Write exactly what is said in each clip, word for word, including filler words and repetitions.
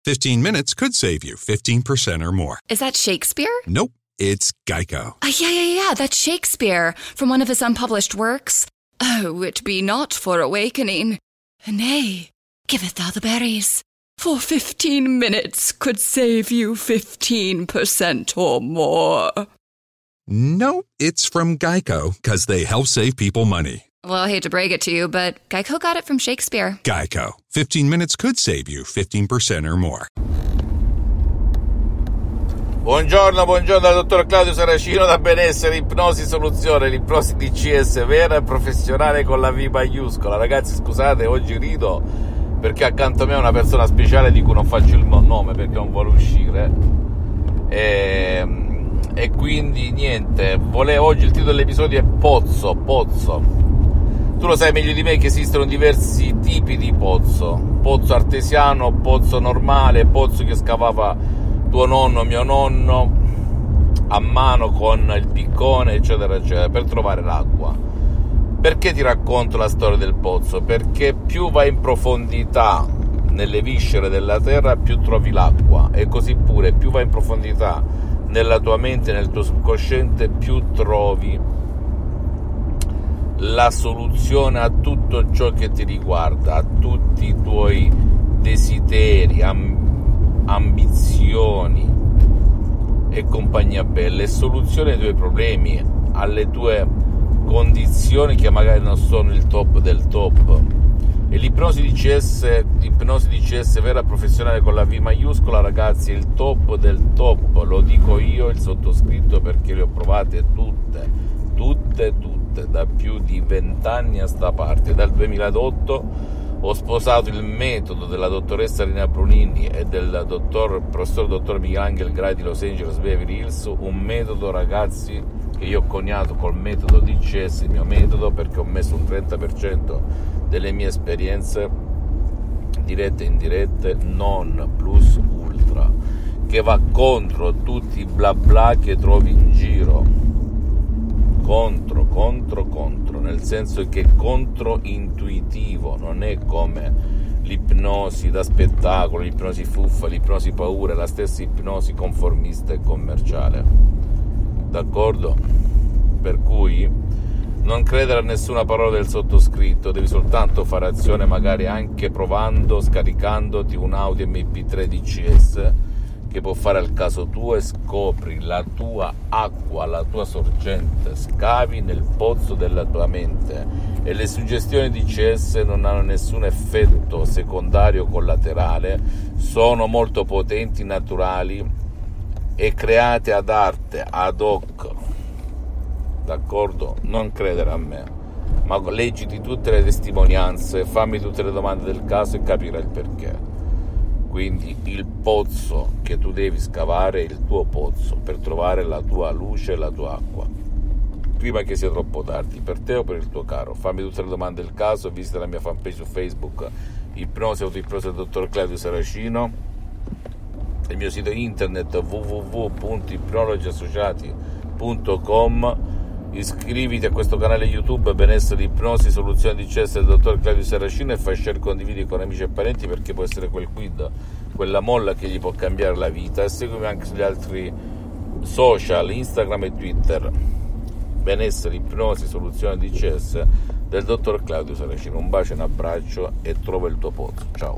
fifteen minutes could save you fifteen percent or more. Is that Shakespeare? Nope, it's Geico. Uh, yeah, yeah, yeah, that's Shakespeare from one of his unpublished works. Oh, it be not for awakening. Nay, giveth thou the berries. For fifteen minutes could save you fifteen percent or more. No, it's from Geico, because they help save people money. Well, I hate to break it to you, but Geico got it from Shakespeare. Geico. fifteen minutes could save you fifteen percent or more. Buongiorno, buongiorno dal dottor Claudio Saracino da Benessere Ipnosi Soluzione, l'ipnosi D C S vera e professionale con la V maiuscola. Ragazzi, scusate, oggi rido perché accanto a me è una persona speciale di cui non faccio il nome perché non vuole uscire. E, e quindi niente, volevo, oggi il titolo dell'episodio è Pozzo, Pozzo. Tu lo sai meglio di me che esistono diversi tipi di pozzo. Pozzo artesiano, pozzo normale, pozzo che scavava tuo nonno, mio nonno, a mano con il piccone, eccetera, eccetera, per trovare l'acqua. Perché ti racconto la storia del pozzo? Perché più vai in profondità nelle viscere della terra, più trovi l'acqua. E così pure, più vai in profondità nella tua mente, nel tuo subconsciente, più trovi la soluzione a tutto ciò che ti riguarda, a tutti i tuoi desideri, ambizioni, ambizioni e compagnia bella, e soluzione ai tuoi problemi, alle tue condizioni che magari non sono il top del top. E l'ipnosi D C S, l'ipnosi D C S vera professionale con la V maiuscola, ragazzi, è il top del top, lo dico io, il sottoscritto, perché le ho provate tutte, tutte, tutte, da più di vent'anni a sta parte. Dal duemilaotto ho sposato il metodo della dottoressa Rina Brunini e del dottor, professor dottor Michelangelo Grai di Los Angeles Beverly Hills, un metodo, ragazzi, che io ho coniato col metodo D C S, il mio metodo, perché ho messo un trenta per cento delle mie esperienze dirette e indirette, non plus ultra, che va contro tutti i bla bla che trovi in giro. Contro, contro, contro, nel senso che è controintuitivo, non è come l'ipnosi da spettacolo, l'ipnosi fuffa, l'ipnosi paura, è la stessa ipnosi conformista e commerciale, d'accordo? Per cui non credere a nessuna parola del sottoscritto, devi soltanto fare azione, magari anche provando, scaricandoti un Audio M P tre D C S che può fare al caso tuo, e scopri la tua acqua, la tua sorgente, scavi nel pozzo della tua mente, e le suggestioni D C S non hanno nessun effetto secondario collaterale, sono molto potenti, naturali e create ad arte, ad hoc, d'accordo? Non credere a me, ma leggiti tutte le testimonianze, fammi tutte le domande del caso e capirai il perché. Quindi il pozzo che tu devi scavare è il tuo pozzo per trovare la tua luce e la tua acqua, prima che sia troppo tardi, per te o per il tuo caro. Fammi tutte le domande del caso, visita la mia fanpage su Facebook, Ipnosi Autoipnosi del dottor Claudio Saracino, il mio sito internet w w w punto ipnologi associati punto com. Iscriviti a questo canale YouTube Benessere Ipnosi Soluzione D C S del dottor Claudio Saracino e fai share, condividi con amici e parenti, perché può essere quel quid, quella molla che gli può cambiare la vita. E seguimi anche sugli altri social, Instagram e Twitter, Benessere Ipnosi Soluzione D C S del dottor Claudio Saracino. Un bacio, un abbraccio e trova il tuo pozzo. Ciao.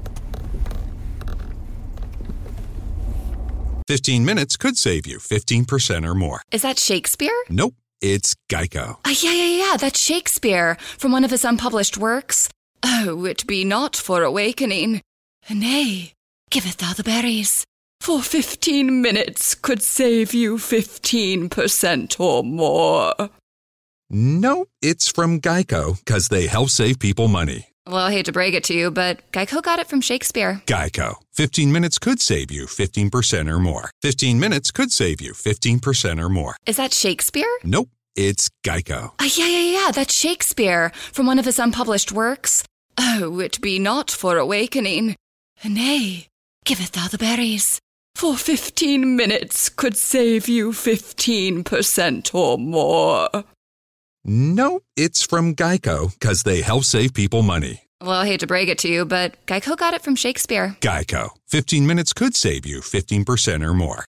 fifteen minutes could save you fifteen percent or more. Is that Shakespeare? Nope, it's Geico. Uh, yeah, yeah, yeah, that's Shakespeare from one of his unpublished works. Oh, it be not for awakening. Nay, giveth thou the berries. For fifteen minutes could save you fifteen percent or more. No, it's from Geico, because they help save people money. Well, I hate to break it to you, but Geico got it from Shakespeare. Geico. fifteen minutes could save you fifteen percent or more. fifteen minutes could save you fifteen percent or more. Is that Shakespeare? Nope, it's Geico. Uh, yeah, yeah, yeah, that's Shakespeare from one of his unpublished works. Oh, it be not for awakening. Nay, giveth thou the berries. For fifteen minutes could save you fifteen percent or more. No, it's from Geico, because they help save people money. Well, I hate to break it to you, but Geico got it from Shakespeare. Geico. fifteen minutes could save you fifteen percent or more.